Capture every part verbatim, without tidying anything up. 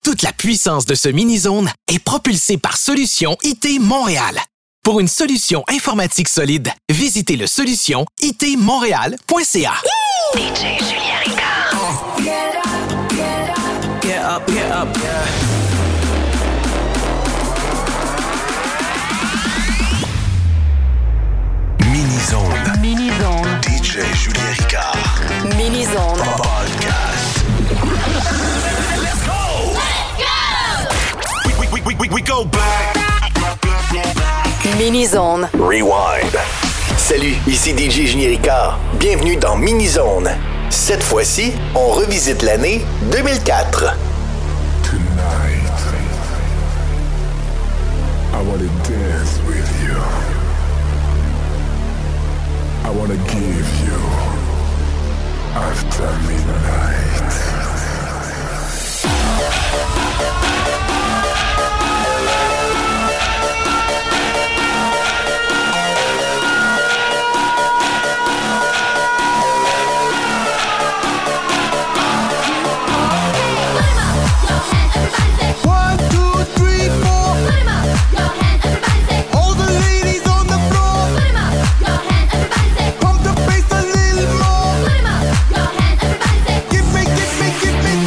Toute la puissance de ce mini-zone est propulsée par Solution I T Montréal. Pour une solution informatique solide, visitez le solution I T montréal point C A. D J Julien Ricard. Get up, get up, get up, get up, yeah. Mini-zone. Mini-zone. D J Julien Ricard. Mini-zone. Podcast. Let's go! Let's go! We, we, we, we, we go back. Mini-zone. Rewind. Salut, ici D J Julien Ricard. Bienvenue dans Mini-zone. Cette fois-ci, on revisite l'année deux mille quatre. Tonight, I want to dance with you. I want to give you after midnight. One, two, three, four. Put 'em up, your hands, everybody say. All the ladies on the floor. Put 'em up, your hands, everybody say. Pump the bass a little more. Put 'em up, your hands, everybody say. Give me, give me, give me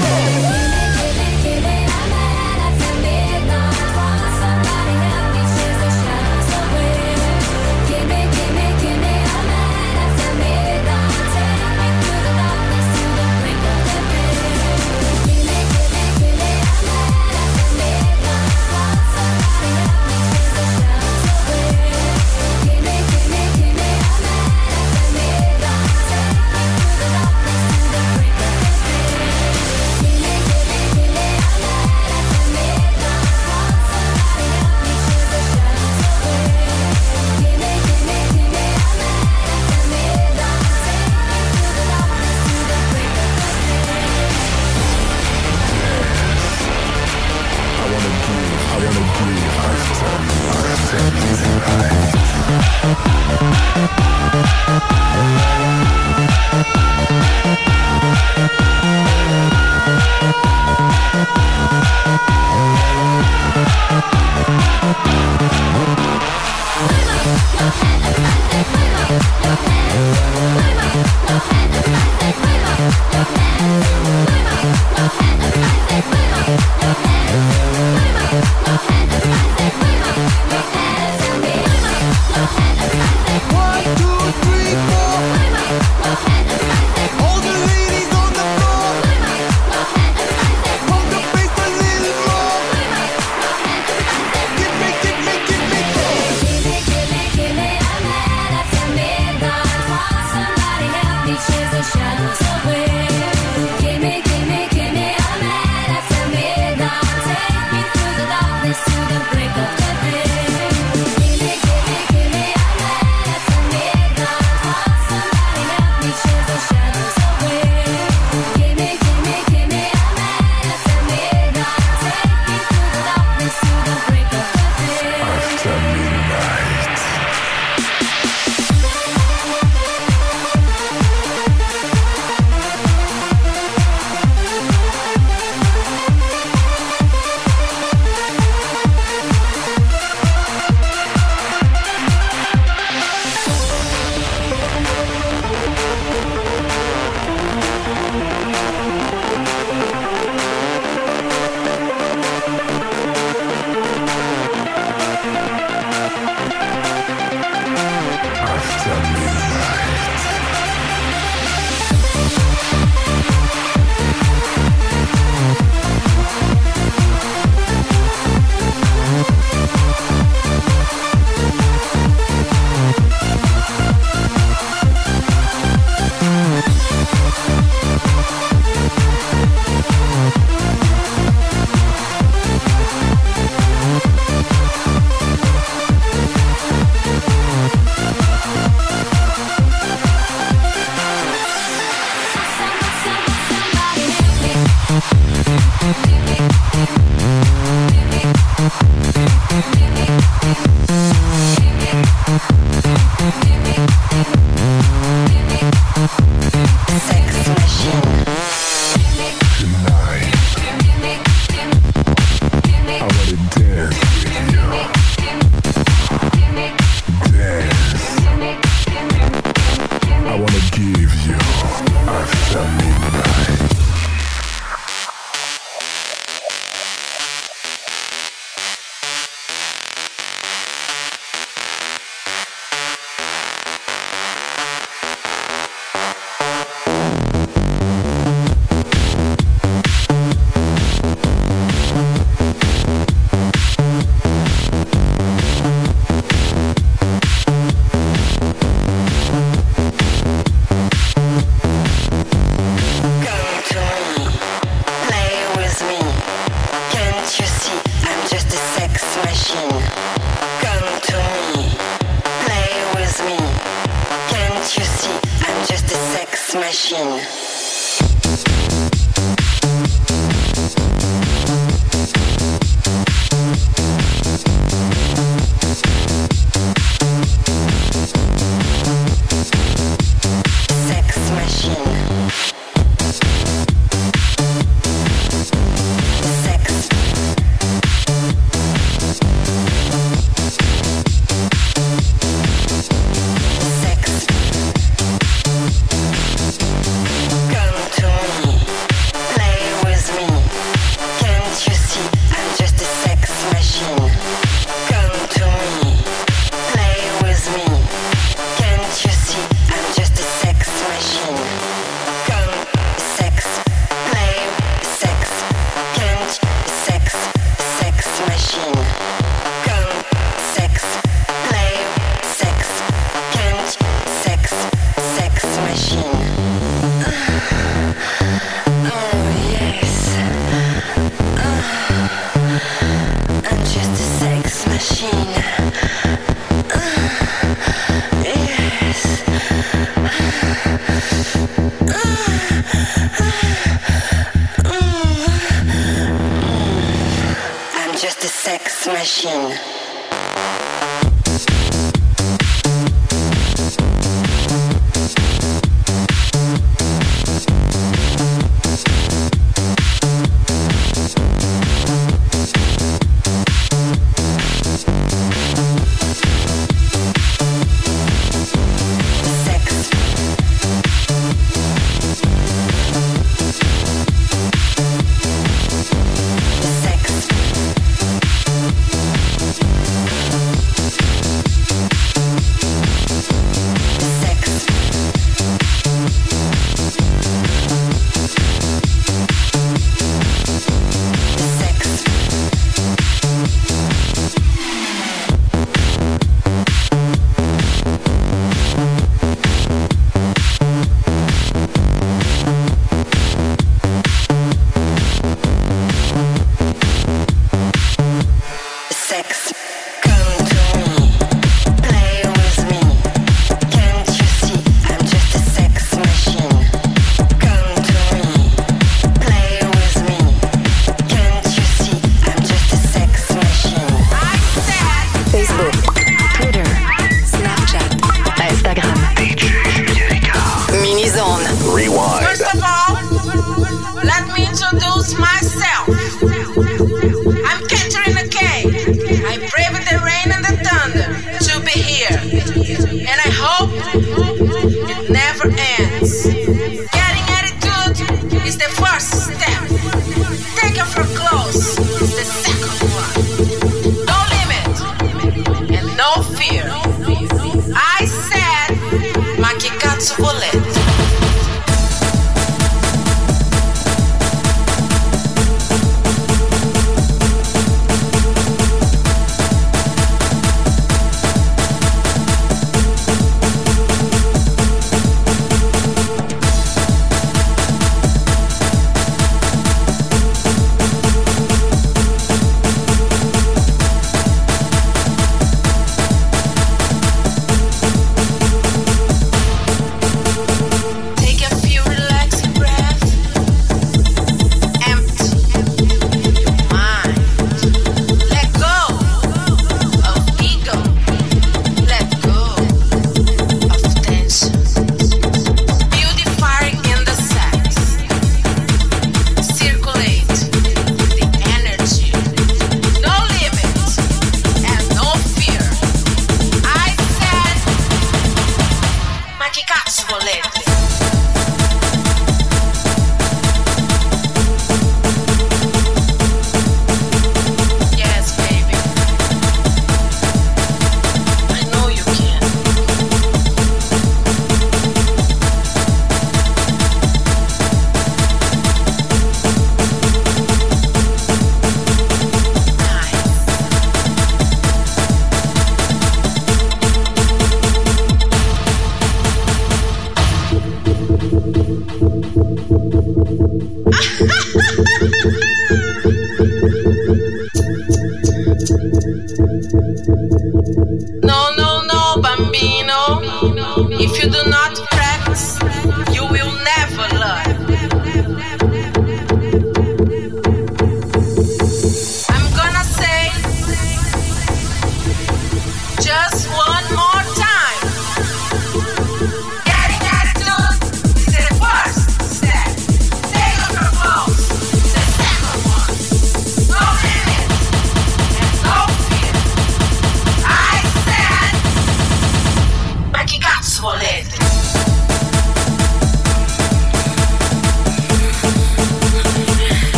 machine. Sex machine. Sex. Sex. Come to me, play with me. Can't you see I'm just a sex machine? Come to me, play with me. Can't you see I'm just a sex machine? Come, sex, play, sex. Can't, sex, sex machine. Come, sex, play, sex. Can't, sex, sex machine. Oh yes, oh, I'm just a sex machine. Oh, yes, I'm just a sex machine. Sex. Sex.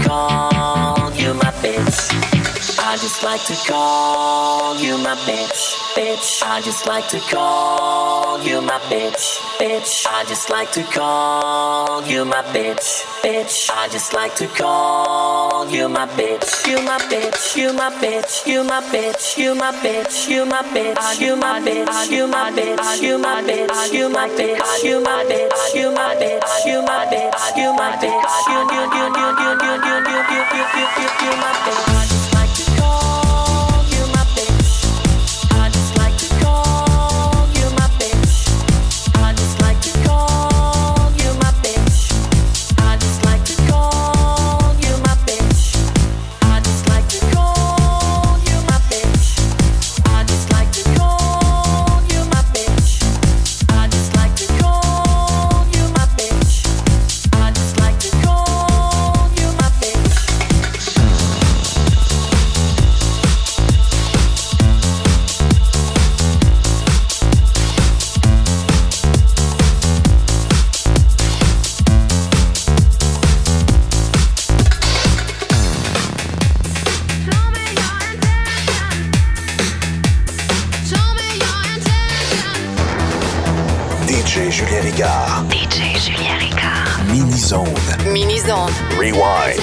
call you my bitch. I just like to call you my bitch. Bitch, I just like to call you my bitch. Bitch, I just like to call you my bitch. Bitch, I just like to call you my bitch. You my bitch, you my bitch, you my bitch, you my bitch, you my bitch, you my bitch, you my bitch, you my bitch, you my bitch, you my bitch, you my bitch, you my bitch, you my bitch, you you you you you you you you you you you you my bitch. D J Julien Ricard. Mini-Zone. Mini-Zone. Rewind.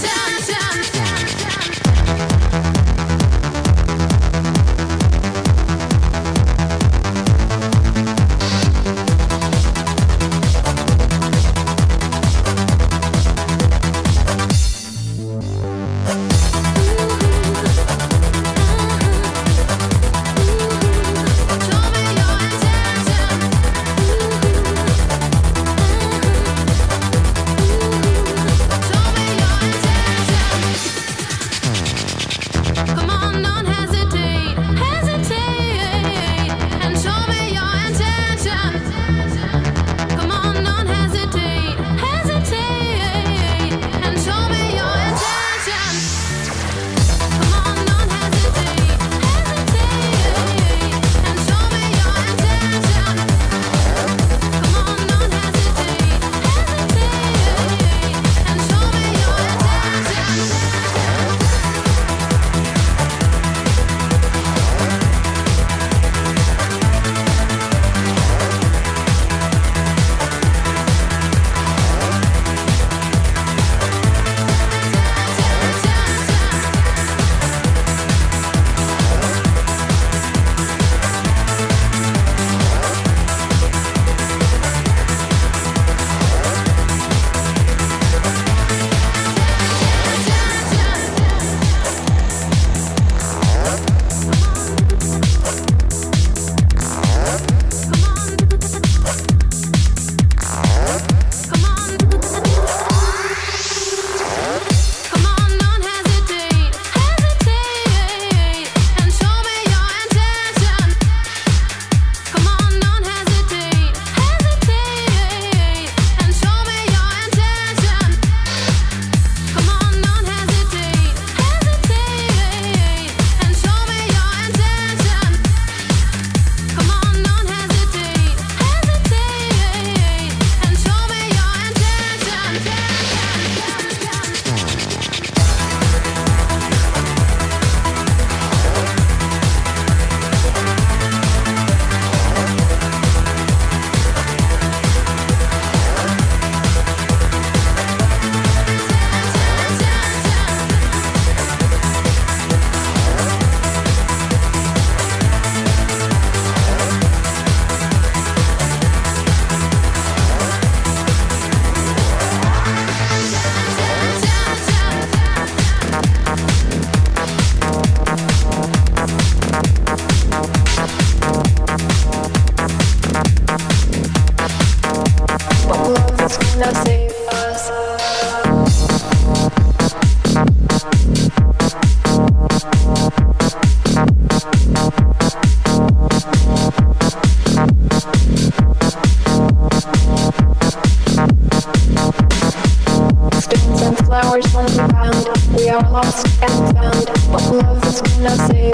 We are lost and found, but love is gonna save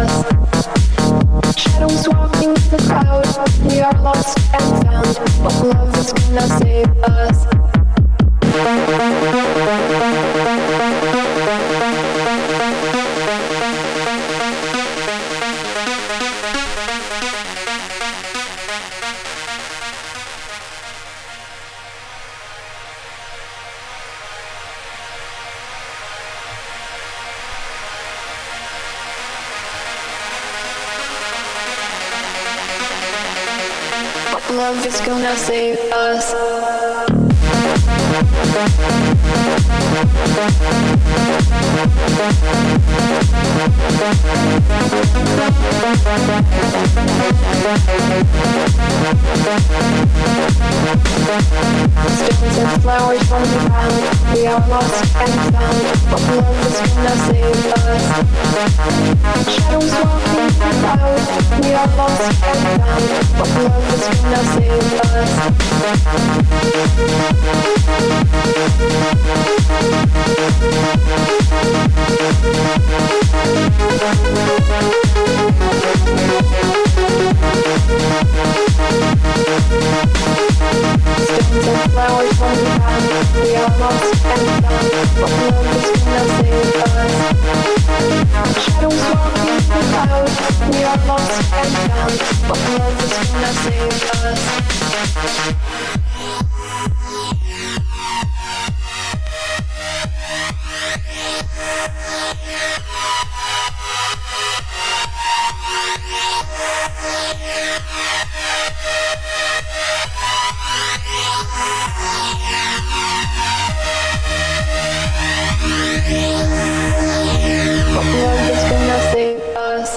us. Shadows walking in the crowd. We are lost and found, but love is gonna save us. Love is gonna save us. Stones and flowers from the ground, we are lost and found, but love is gonna save us. Shadows walking the cloud, we are lost and found, but love is gonna save us. Stones and flowers from the ground, we are lost and found, but love is gonna save us. Shadows walking the cloud, we are lost and found, but love is gonna save us. But love is gonna save us.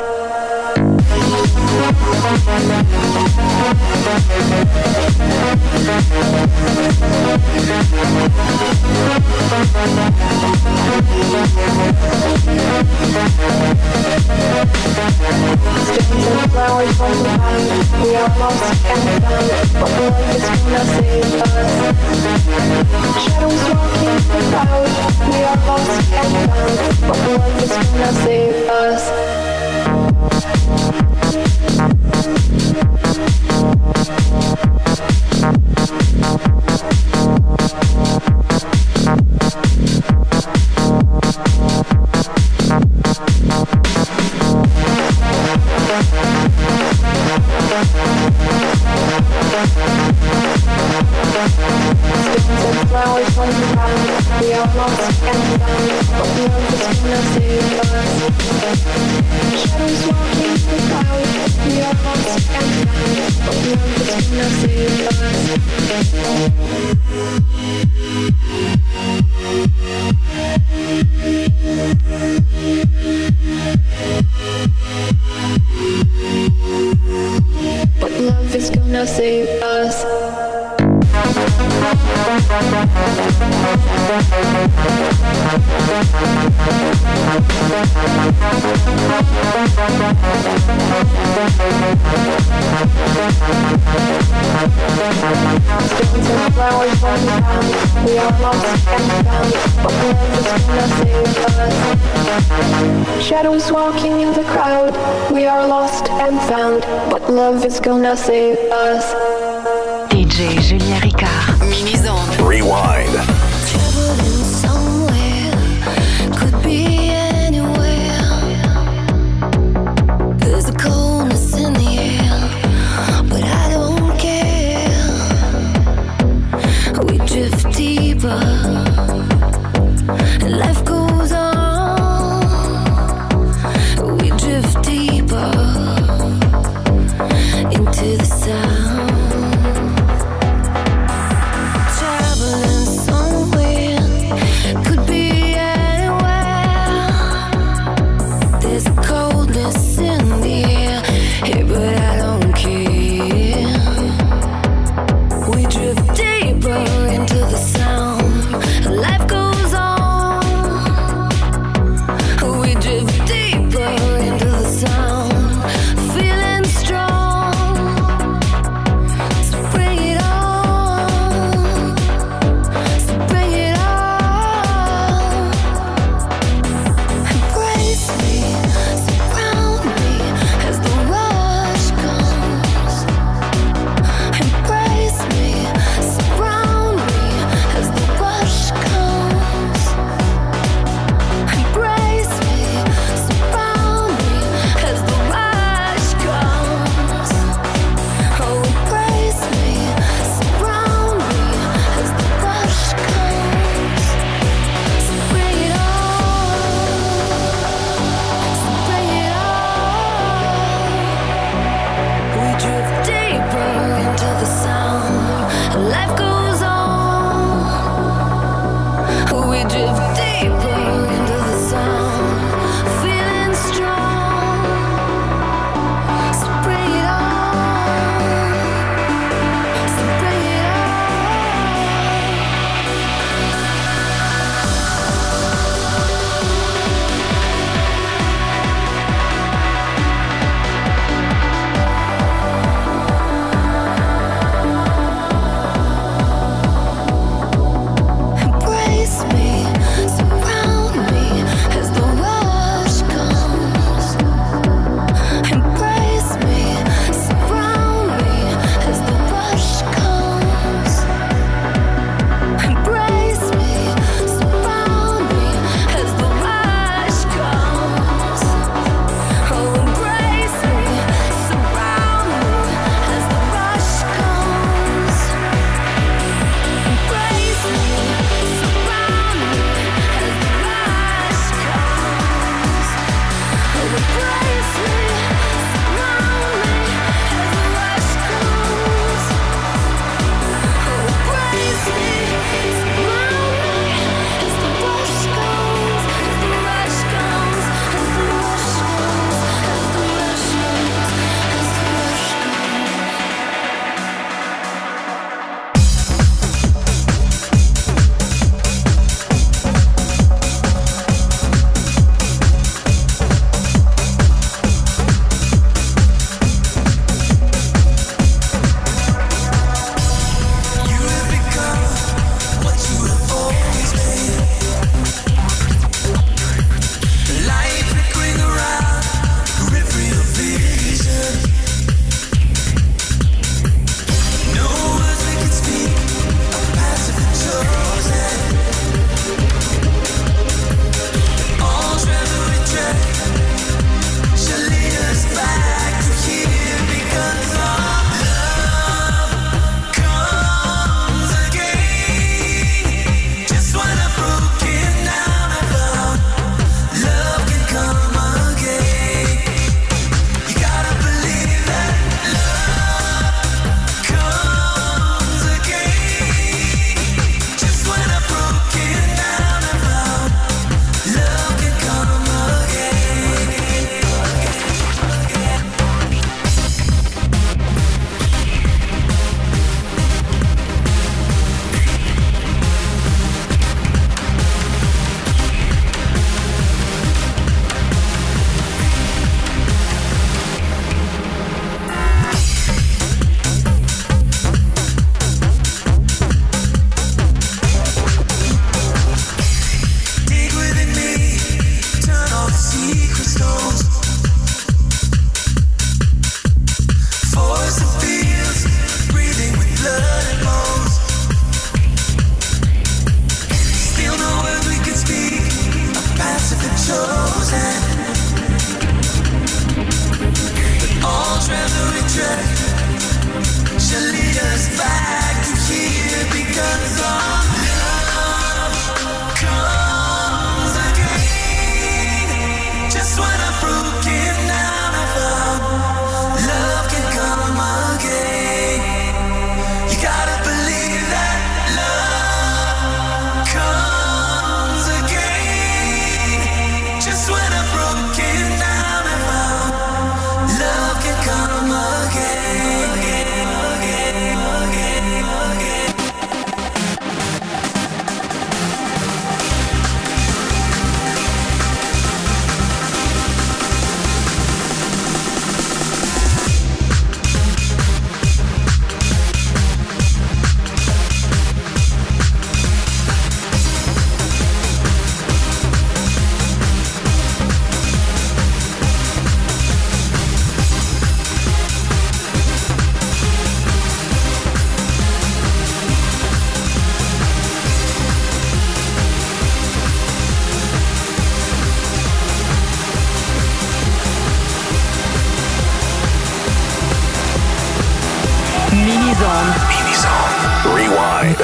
Stones and flowers from the ground, we are lost and found, but love is gonna save us. Shadows walking the crowd, we are lost and found, but love is gonna save us. Stones and flowers from the ground, we are lost and found, but love is gonna save us. Shadows walking the cloud, we are lost and found, but love is gonna save us. But love is gonna save us. Stones and flowers from the ground, we are lost and found, but love is gonna save us. Shadows walking in the crowd, we are lost and found, but love is gonna save us. D J Julien Ricard, Mini-Zone. Rewind. Traveling somewhere, could be anywhere. There's a coldness in the air, but I don't care. We drift deeper, and life goes on. We drift deeper into the sound. Traveling somewhere. Mini-Zone. Mini-Zone. Rewind.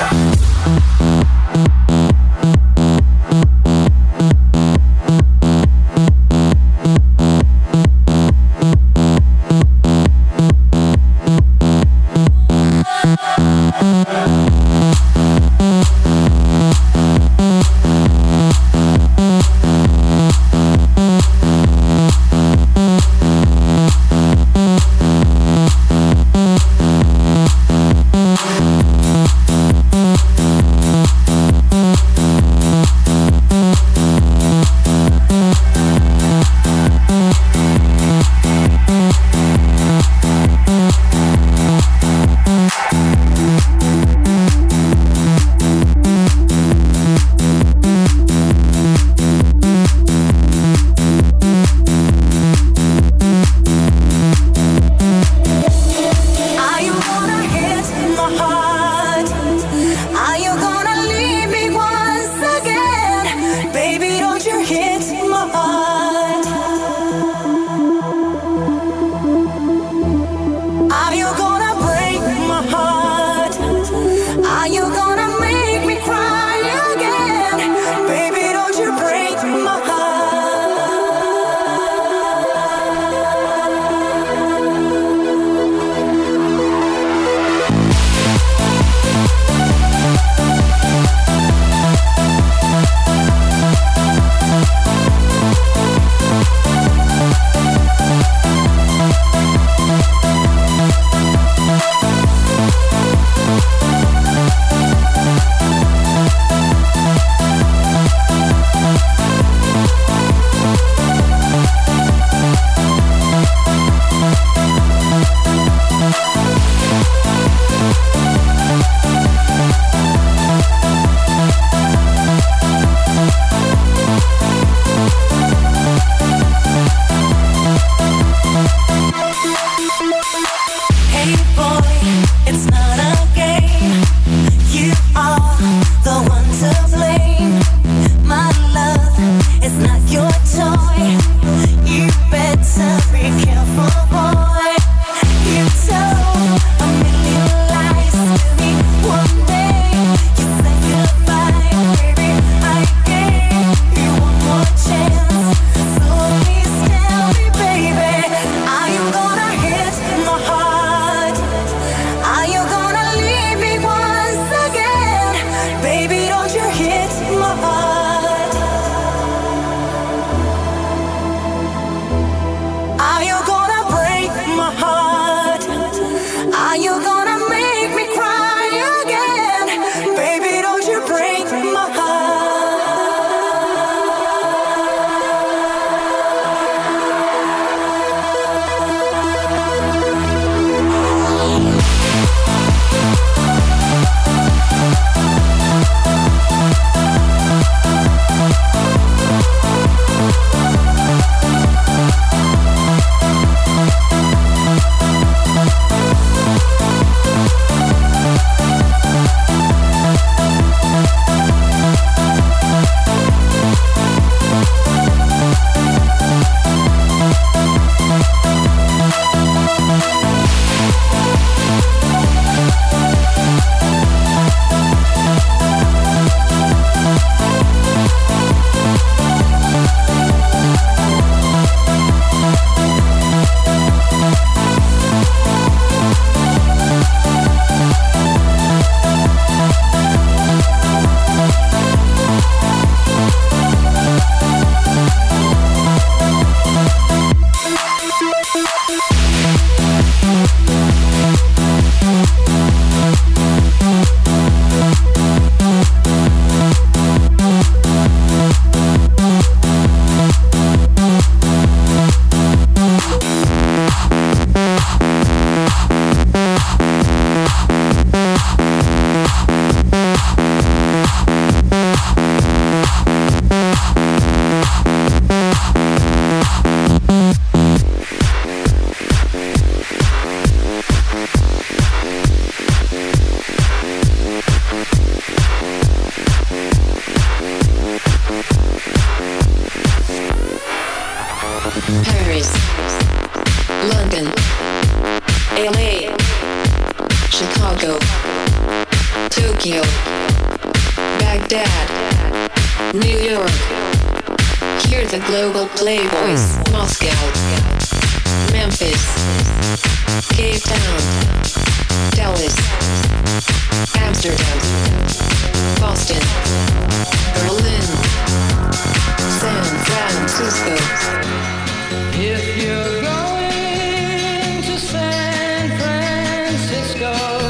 London, L A, Chicago. Chicago, Tokyo, Baghdad, New York. Hear the global playboys. Moscow, Memphis, Cape Town, Dallas, Amsterdam, Boston, Berlin, San Francisco. If you're going to San Francisco,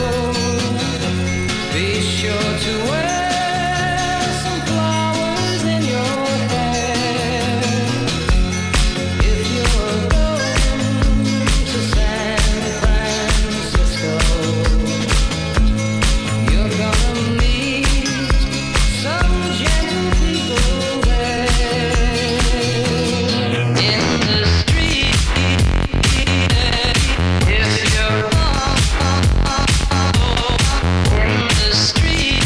be sure to wear some flowers in your hair. If you're going to San Francisco, you're gonna meet some gentle people there. In the street, if you're in the street,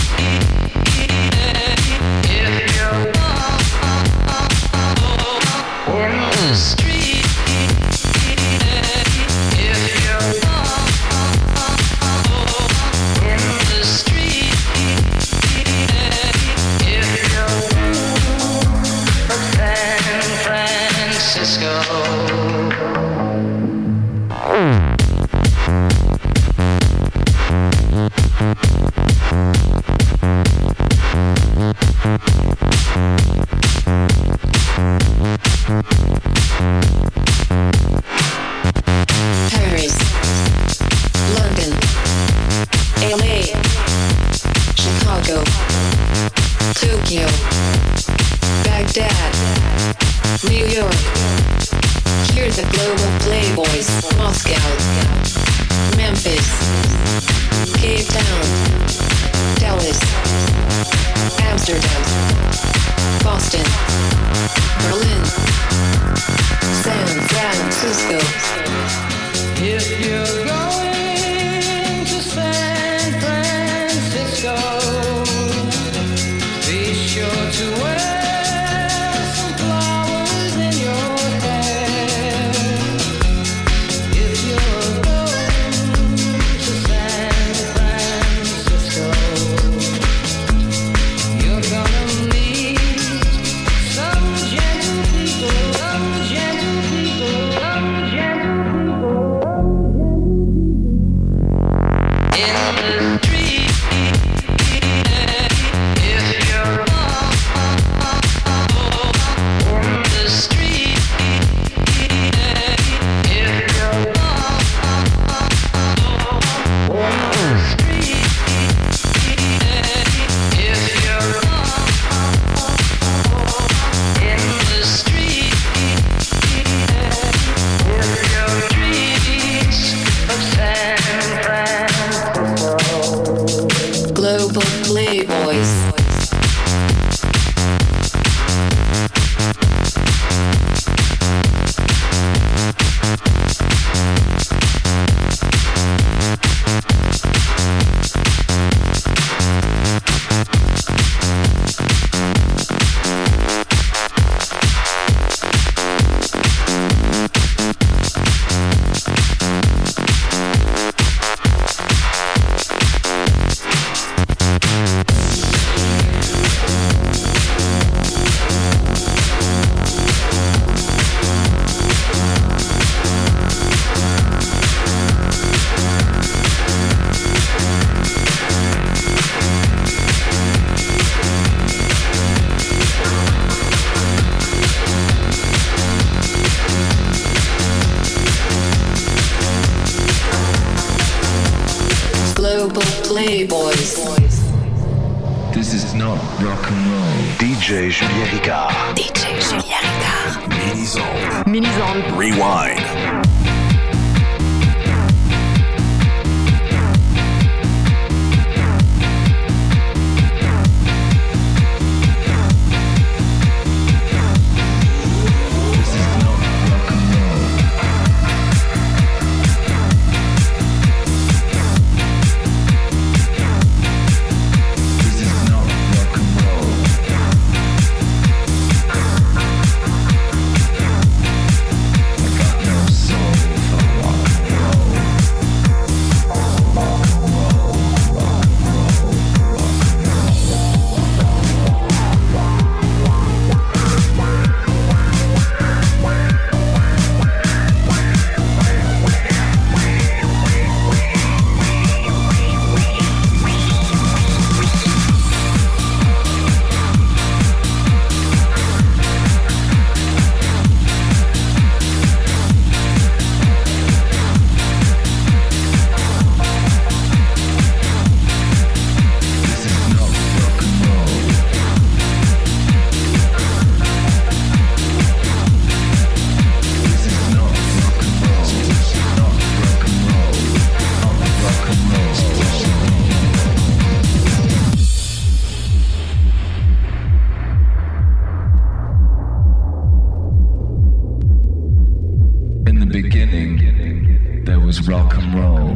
if you're in the street, if you're in the street, if you're from San Francisco. Paris, London, L A, Chicago, Tokyo, Baghdad, New York. Hear the global playboys. Moscow, Memphis, Cape Town, Dallas, Amsterdam, Boston, Berlin, San Francisco. If you're going to San Francisco, be sure to wear some flowers in your hair. If you're going to San Francisco, you're gonna meet some gentle people, some gentle people, some gentle people. In the street, if you're in the street, if you're in the street, if you're in the street, if you're streets of San Francisco. Global playboys. Global playboys. This is not rock and roll. D J Julien Ricard. D J Julien Ricard. Mini-Zone. Mini-Zone. Rewind. Soul. was rock and roll.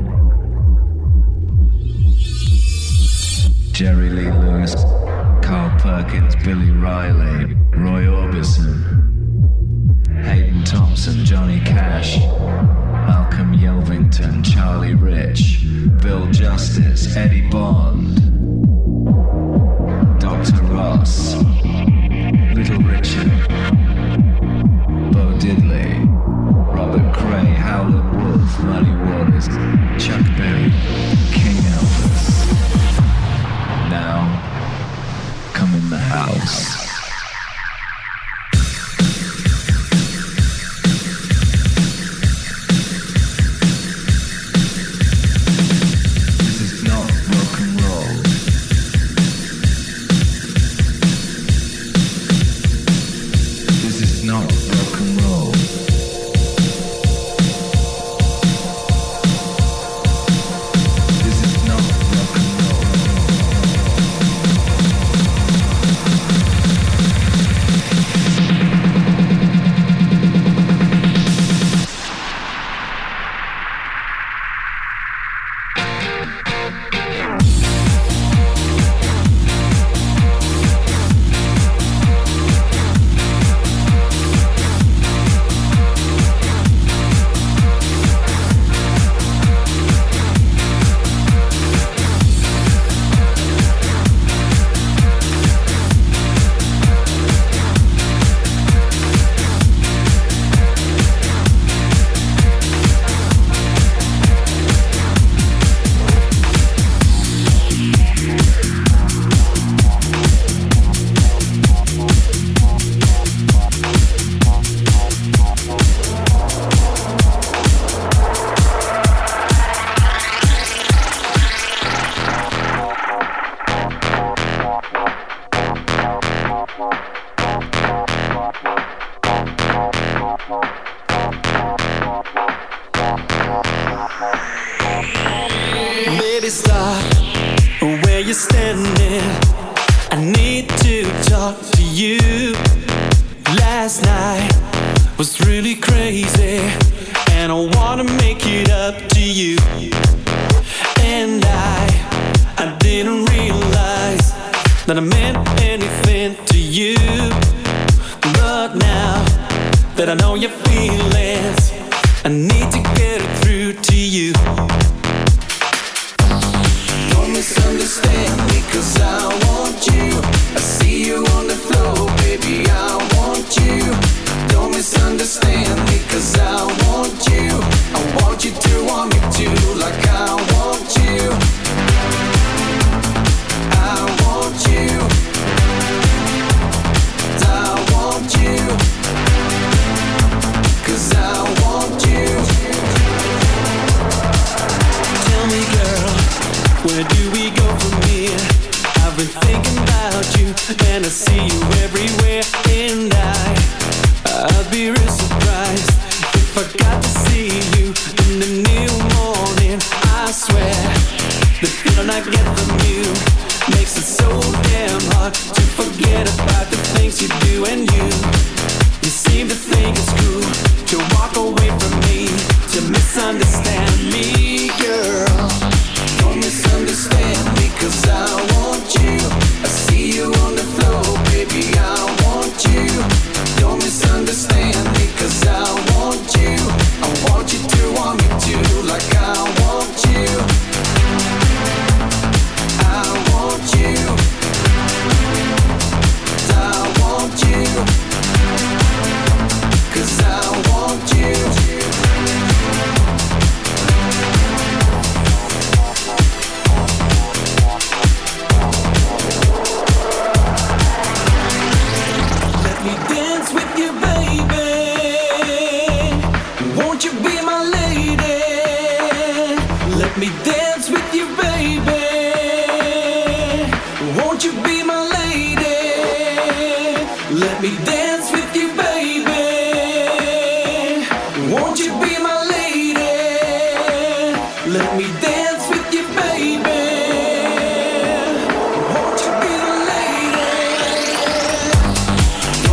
Jerry Lee Lewis, Carl Perkins, Billy Riley, Roy Orbison, Hayden Thompson, Johnny Cash, Malcolm Yelvington, Charlie Rich, Bill Justice, Eddie Bond, Doctor Ross, Little Richard, Bo Diddley, Robert Cray, Howlin' Wolf, Muddy Waters, Chuck Berry, King Elvis. Now, come in the house.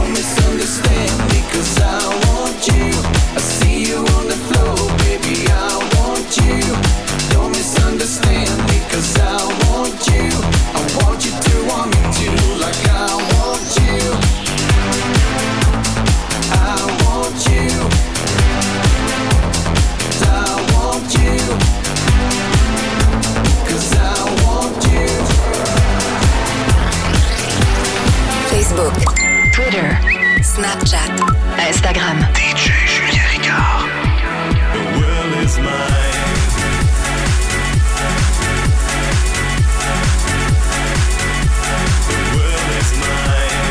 Understand me 'cause I want you. I see you on the floor, baby. I Snapchat, Instagram. D J Julien Ricard. The world is mine. The world is mine.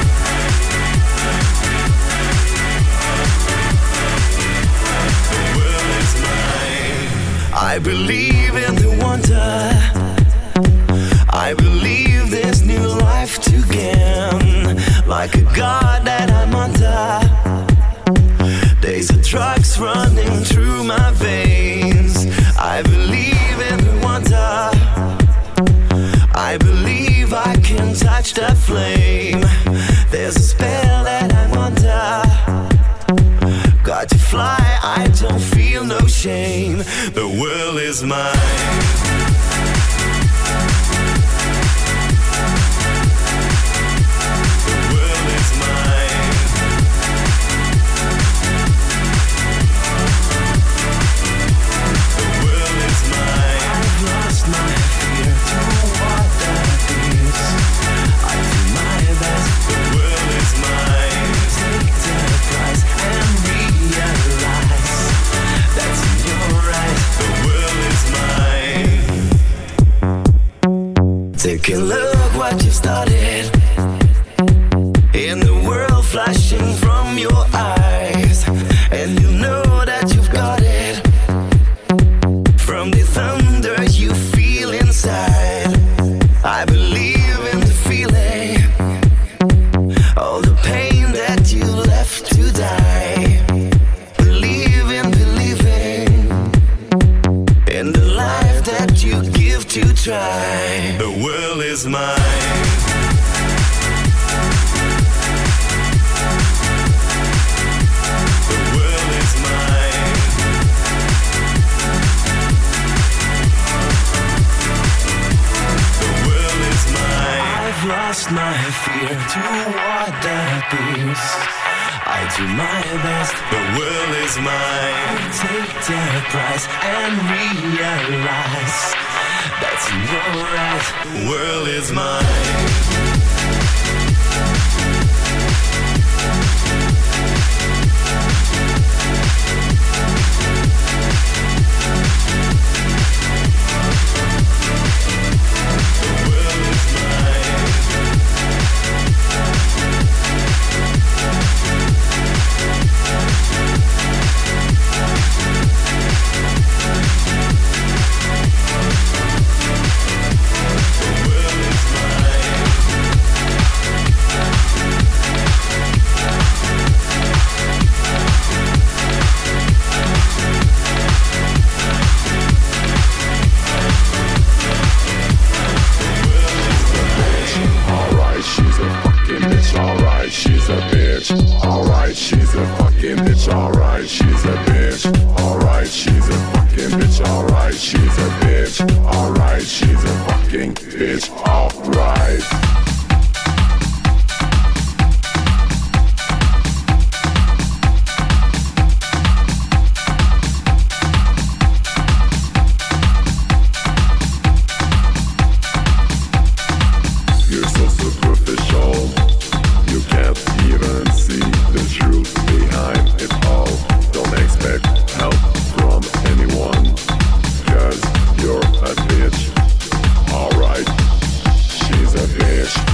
The world is mine. I believe in the wonder. I believe there's new life to gain. Like a god that I'm under. Days of drugs running through my veins. I believe in the wonder. I believe I can touch that flame. There's a spell that I'm under. Got to fly, I don't feel no shame. The world is mine. Take a look what you've started. In the world flashing from your eyes. And you know that you've got it. From the thunder you feel inside. I believe in the feeling. All the pain that you left to die. Believe in believing. In the life that you give to try. The world is mine. The world is mine. The world is mine. I've lost my fear toward that peace. I do my best. The world is mine. Take the prize and realize that's in your eyes. The world is mine. Alright, she's a fucking bitch. Alright, she's a bitch. Alright, she's a fucking bitch. Alright, she's a bitch. Alright, she's a fucking bitch. Alright. Alright, she's a bitch.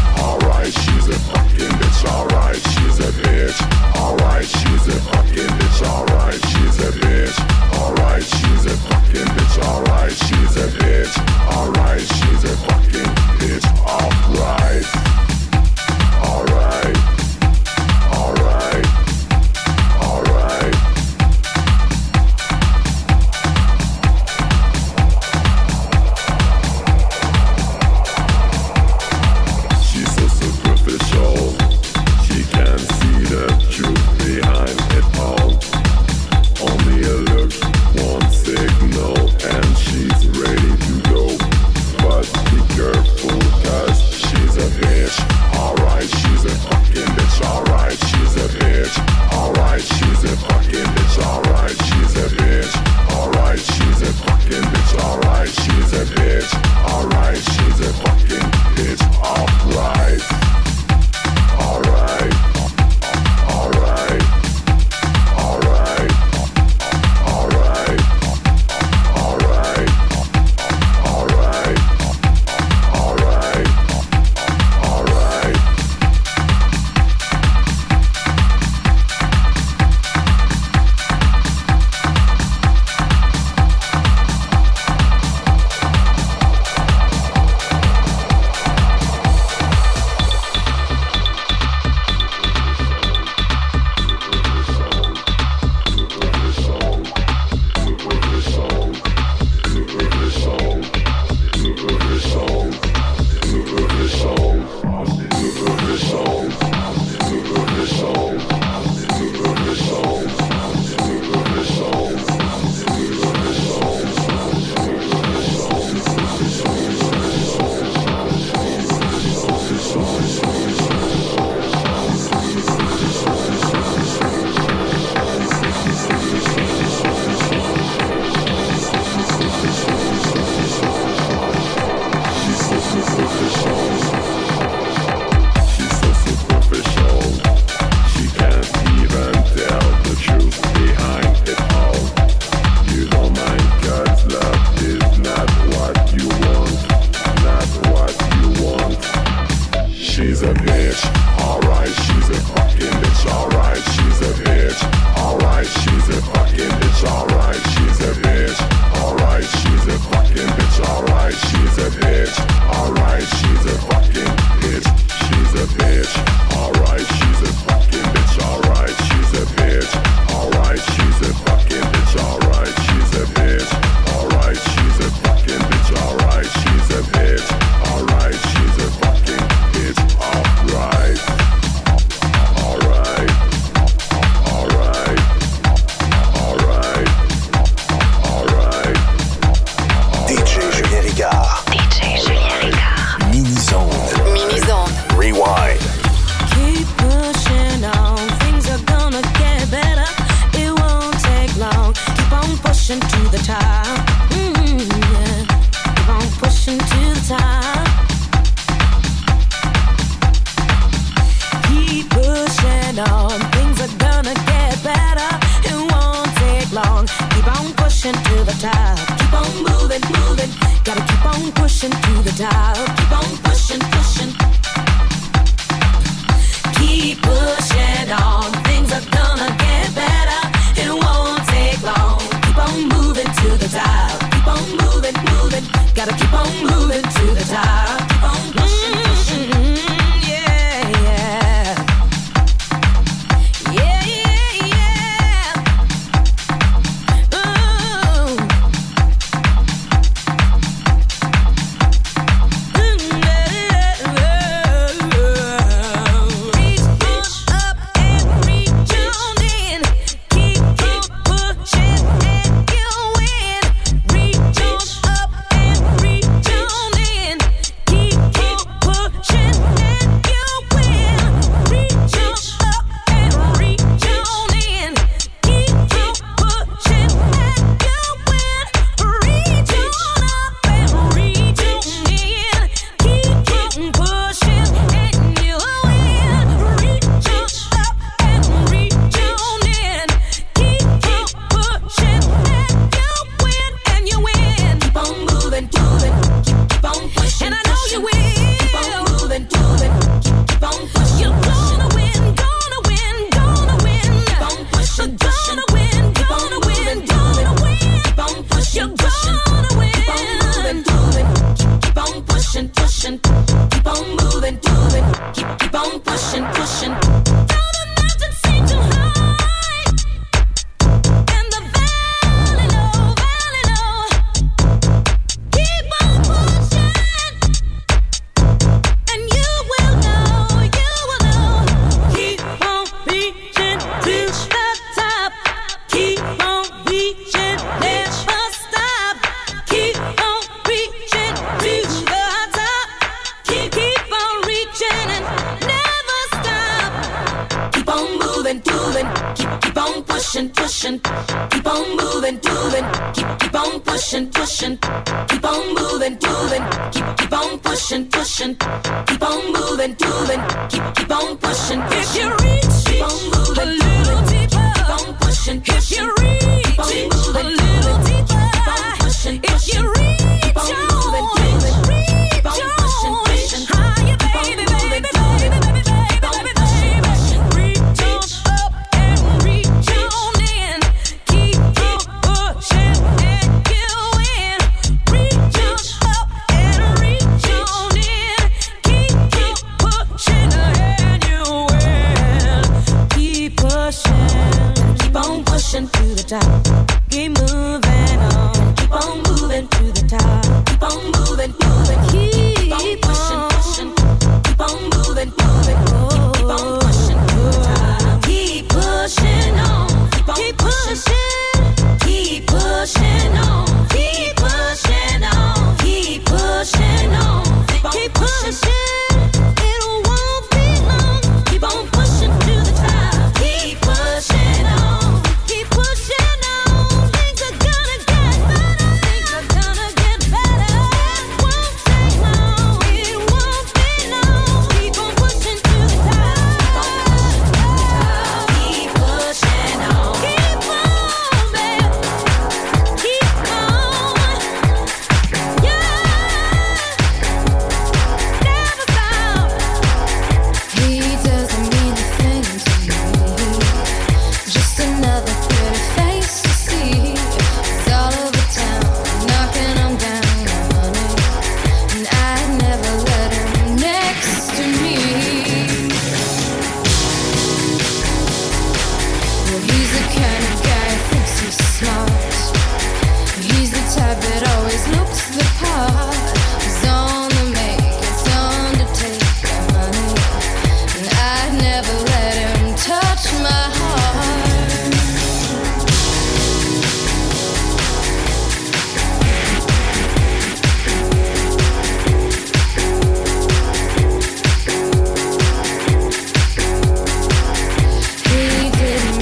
pushing to the top. Keep on moving, moving. Gotta keep on pushing to the top. Keep on pushing, pushing. Keep pushing on. Things are gonna get better. It won't take long. Keep on moving to the top. Keep on moving, moving. Gotta keep on moving to the top. Keep on pushing, pushing. Mm-hmm, yeah, yeah. Yeah, yeah, yeah. Ooh.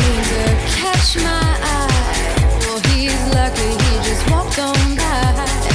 Lucky he just walked on by.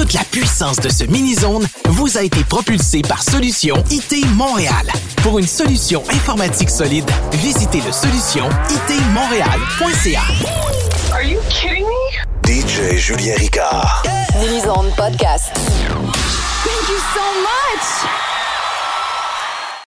Toute la puissance de ce mini-zone vous a été propulsée par Solution I T Montréal. Pour une solution informatique solide, visitez le solution I T montréal point c a. Are you kidding me? D J Julien Ricard. Mini-zone podcast. Thank you so much!